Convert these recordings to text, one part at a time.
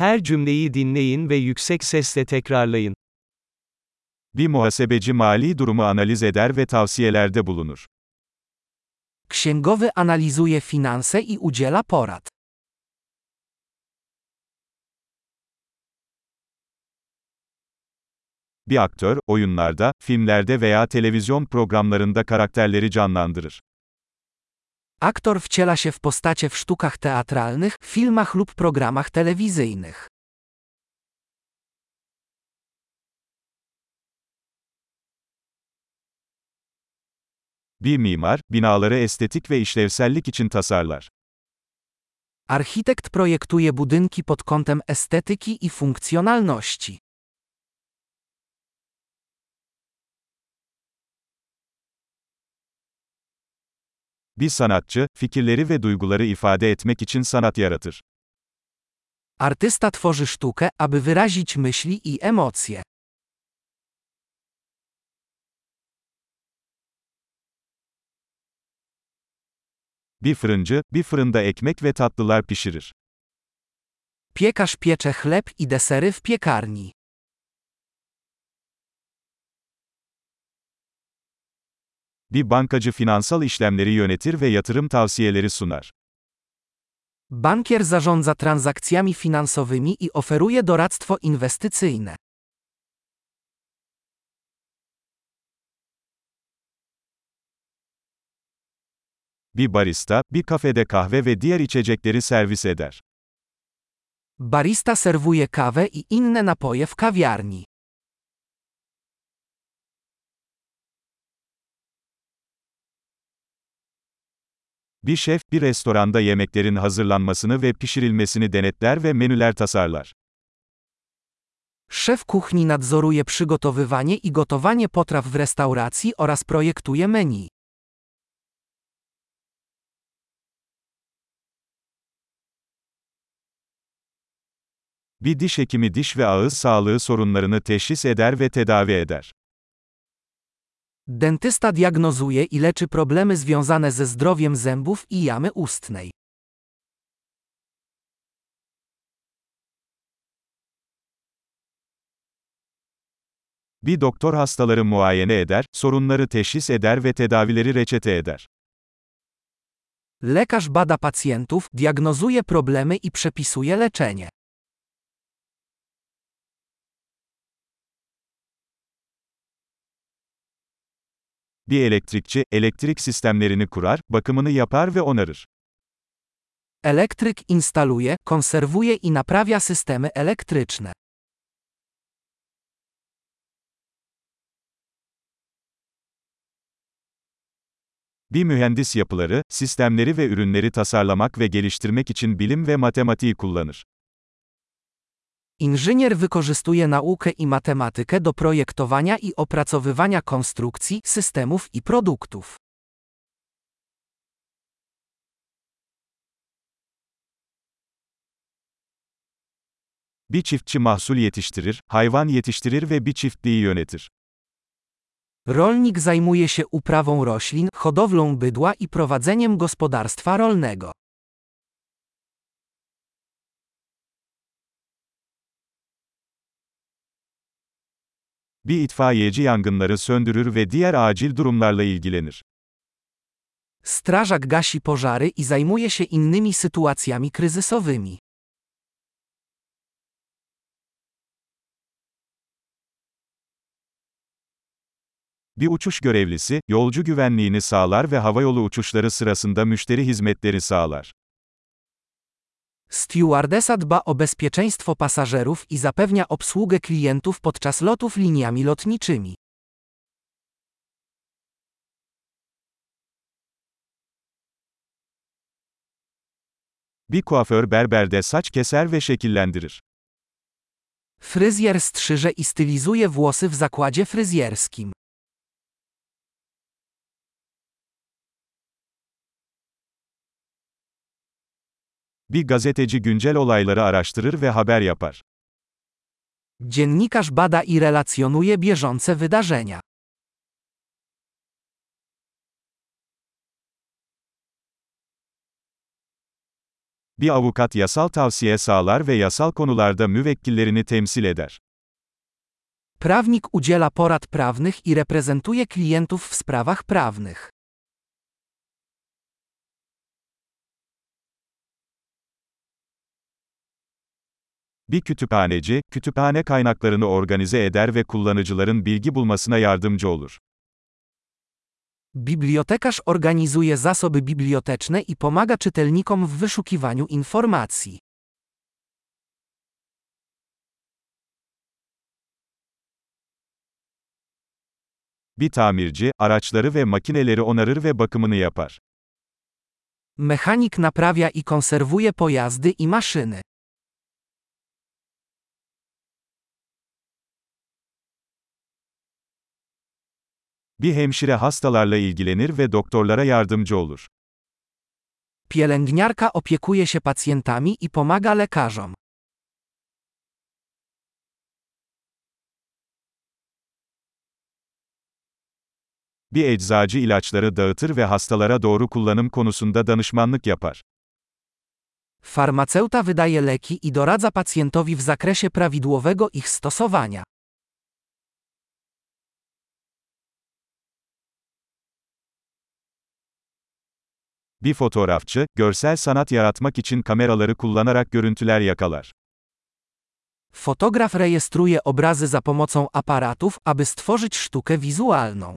Her cümleyi dinleyin ve yüksek sesle tekrarlayın. Bir muhasebeci mali durumu analiz eder ve tavsiyelerde bulunur. Księgowy analizuje finanse i udziela porad. Bir aktör, oyunlarda, filmlerde veya televizyon programlarında karakterleri canlandırır. Aktor wciela się w postacie w sztukach teatralnych, filmach lub programach telewizyjnych. Bir mimar, binaları estetik ve işlevsellik için tasarlar. Architekt projektuje budynki pod kątem estetyki i funkcjonalności. Bir sanatçı, fikirleri ve duyguları ifade etmek için sanat yaratır. Artysta tworzy sztukę, aby wyrazić myśli i emocje. Bir fırıncı, bir fırında ekmek ve tatlılar pişirir. Piekarz piecze chleb i desery w piekarni. Bir bankacı finansal işlemleri yönetir ve yatırım tavsiyeleri sunar. Bankier zarządza transakcjami finansowymi i oferuje doradztwo inwestycyjne. Bir barista, bir kafede kahve ve diğer içecekleri servis eder. Barista serwuje kawę i inne napoje w kawiarni. Bir şef, bir restoranda yemeklerin hazırlanmasını ve pişirilmesini denetler ve menüler tasarlar. Szef kuchni nadzoruje przygotowywanie i gotowanie potraw w restauracji oraz projektuje menu. Bir diş hekimi diş ve ağız sağlığı sorunlarını teşhis eder ve tedavi eder. Dentysta diagnozuje i leczy problemy związane ze zdrowiem zębów i jamy ustnej. Bir doktor hastaları muayene eder, sorunları teşhis eder ve tedavileri reçete eder. Lekarz bada pacjentów, diagnozuje problemy i przepisuje leczenie. Bir elektrikçi, elektrik sistemlerini kurar, bakımını yapar ve onarır. Elektryk instaluje, konserwuje i naprawia systemy elektryczne. Bir mühendis yapıları, sistemleri ve ürünleri tasarlamak ve geliştirmek için bilim ve matematiği kullanır. Inżynier wykorzystuje naukę i matematykę do projektowania i opracowywania konstrukcji, systemów i produktów. Bir çiftçi mahsul yetiştirir, hayvan yetiştirir ve bir çiftliği yönetir. Rolnik zajmuje się uprawą roślin, hodowlą bydła i prowadzeniem gospodarstwa rolnego. Bir itfaiyeci yangınları söndürür ve diğer acil durumlarla ilgilenir. Strażak gasi pożary i zajmuje się innymi sytuacjami kryzysowymi. Bir uçuş görevlisi, yolcu güvenliğini sağlar ve havayolu uçuşları sırasında müşteri hizmetleri sağlar. Stewardesa dba o bezpieczeństwo pasażerów i zapewnia obsługę klientów podczas lotów liniami lotniczymi. Bir kuaför berberde saç keser ve şekillendirir. Fryzjer strzyże i stylizuje włosy w zakładzie fryzjerskim. Bir gazeteci güncel olayları araştırır ve haber yapar. Dziennikarz bada i relacjonuje bieżące wydarzenia. Bir avukat yasal tavsiye sağlar ve yasal konularda müvekkillerini temsil eder. Prawnik udziela porad prawnych i reprezentuje klientów w sprawach prawnych. Bir kütüphaneci, kütüphane kaynaklarını organize eder ve kullanıcıların bilgi bulmasına yardımcı olur. Bibliotekarz organizuje zasoby biblioteczne i pomaga czytelnikom w wyszukiwaniu informacji. Bir tamirci, araçları ve makineleri onarır ve bakımını yapar. Mechanik naprawia i konserwuje pojazdy i maszyny. Bir hemşire hastalarla ilgilenir ve doktorlara yardımcı olur. Pielęgniarka opiekuje się pacjentami i pomaga lekarzom. Bir eczacı ilaçları dağıtır ve hastalara doğru kullanım konusunda danışmanlık yapar. Farmaceuta wydaje leki i doradza pacjentowi w zakresie prawidłowego ich stosowania. Bir fotoğrafçı, görsel sanat yaratmak için kameraları kullanarak görüntüler yakalar. Fotograf rejestruje obrazy za pomocą aparatów, aby stworzyć sztukę wizualną.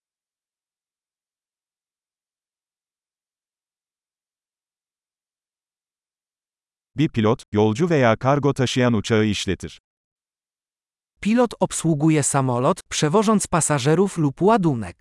Bir pilot, yolcu veya kargo taşıyan uçağı işletir. Pilot obsługuje samolot, przewożąc pasażerów lub ładunek.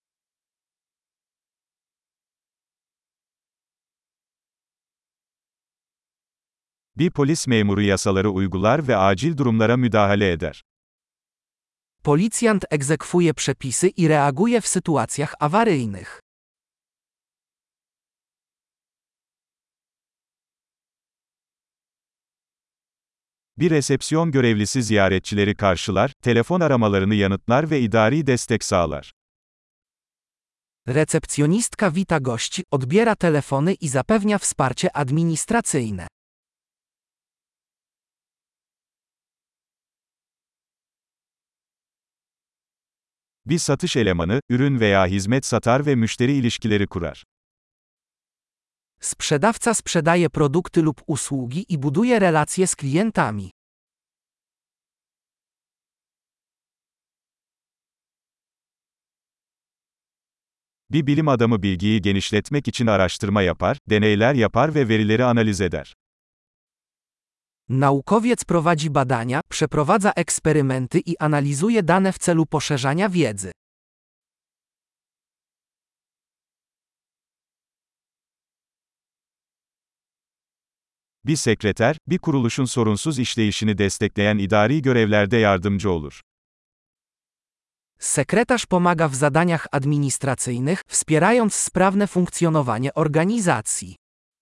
Bir polis memuru yasaları uygular ve acil durumlara müdahale eder. Policjant egzekwuje przepisy i reaguje w sytuacjach awaryjnych. Bir resepsiyon görevlisi ziyaretçileri karşılar, telefon aramalarını yanıtlar ve idari destek sağlar. Recepcjonistka wita gości, odbiera telefony i zapewnia wsparcie administracyjne. Bir satış elemanı, ürün veya hizmet satar ve müşteri ilişkileri kurar. Sprzedawca sprzedaje produkty lub usługi i buduje relacje z klientami. Bir bilim adamı bilgiyi genişletmek için araştırma yapar, deneyler yapar ve verileri analiz eder. Naukowiec prowadzi badania, przeprowadza eksperymenty i analizuje dane w celu poszerzania wiedzy. Bir sekreter, bir kuruluşun sorunsuz işleyişini destekleyen idari görevlerde yardımcı olur. Sekretarz pomaga w zadaniach administracyjnych, wspierając sprawne funkcjonowanie organizacji.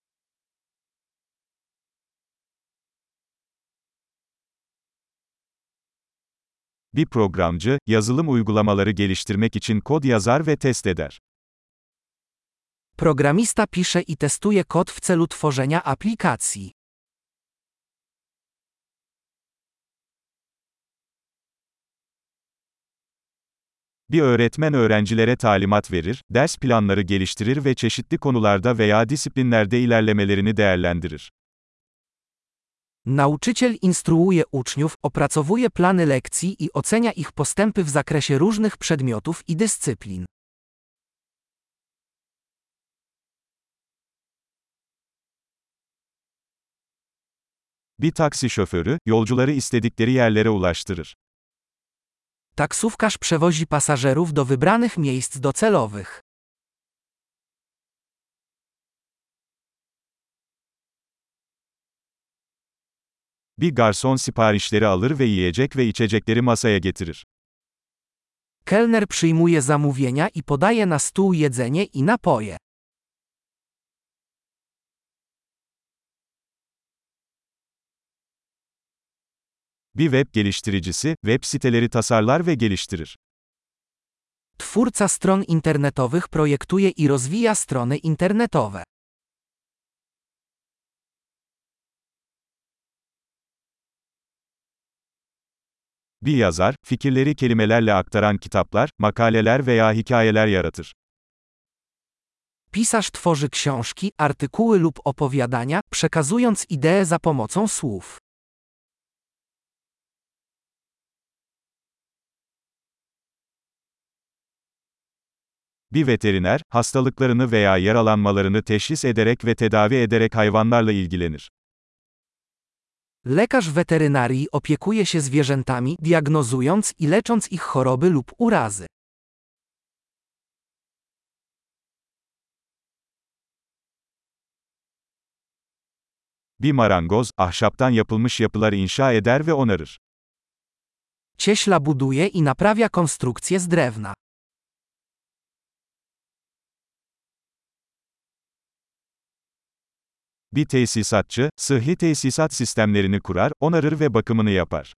Bir programcı, yazılım uygulamaları geliştirmek için kod yazar ve test eder. Programista pisze i testuje kod w celu tworzenia aplikacji. Bir öğretmen öğrencilere talimat verir, ders planları geliştirir ve çeşitli konularda veya disiplinlerde ilerlemelerini değerlendirir. Nauczyciel instruuje uczniów, opracowuje plany lekcji i ocenia ich postępy w zakresie różnych przedmiotów i dyscyplin. Bir taksi şoförü, yolcuları istedikleri yerlere ulaştırır. Taksówkarz przewozi pasażerów do wybranych miejsc docelowych. Bir garson siparişleri alır ve yiyecek ve içecekleri masaya getirir. Kelner przyjmuje zamówienia i podaje na stół jedzenie i napoje. Bir web geliştiricisi, web siteleri tasarlar ve geliştirir. Twórca stron internetowych projektuje i rozwija strony internetowe. Bir yazar, fikirleri kelimelerle aktaran kitaplar, makaleler veya hikayeler yaratır. Pisarz tworzy książki, artykuły lub opowiadania, przekazując idee za pomocą słów. Bir veteriner, hastalıklarını veya yaralanmalarını teşhis ederek ve tedavi ederek hayvanlarla ilgilenir. Lekarz weterynarii opiekuje się zwierzętami, diagnozując i lecząc ich choroby lub urazy. Bir marangoz, ahşaptan yapılmış yapılar inşa eder ve onarır. Cieśla buduje i naprawia konstrukcje z drewna. Bir tesisatçı, sıhhi tesisat sistemlerini kurar, onarır ve bakımını yapar.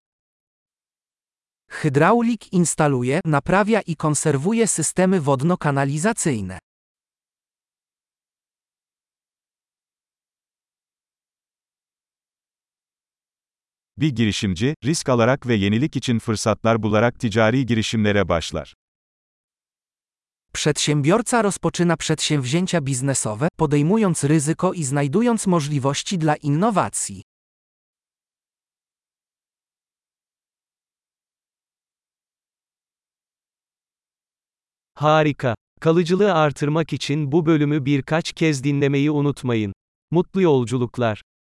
Hydraulik instaluje, naprawia i konserwuje systemy wodno-kanalizacyjne. Bir girişimci, risk alarak ve yenilik için fırsatlar bularak ticari girişimlere başlar. Przedsiębiorca rozpoczyna przedsięwzięcia biznesowe, podejmując ryzyko i znajdując możliwości dla innowacji. Harika. Kalıcılığı artırmak için bu bölümü birkaç kez dinlemeyi unutmayın. Mutlu yolculuklar.